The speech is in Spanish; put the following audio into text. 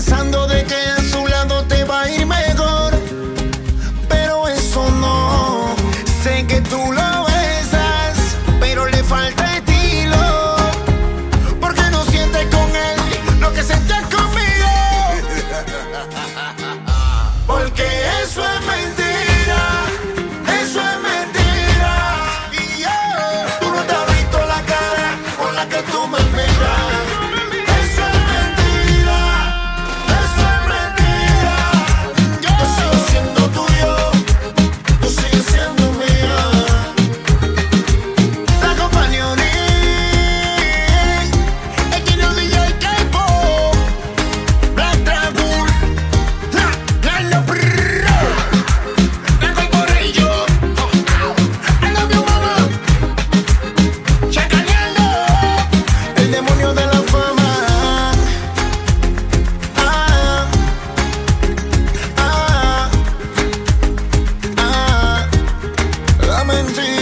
pensando de que a su lado te va a ir mejor, pero eso no. Sé que tú lo besas, pero le falta estilo, porque no sientes con él lo que sientes conmigo. Porque eso es mentira, eso es mentira. Y yo, tú no te has visto la cara con la que tú me miras. Eso es mentira, eso es mentira. Yo sigo siendo tuyo, tú sigues siendo mía. La compañía es que no DJ K-pop, Black Dragon, la brrrr, la corporation. I love you, mama. Chacaneando, el demonio de la fama. Ah, ah, ah, la mentira.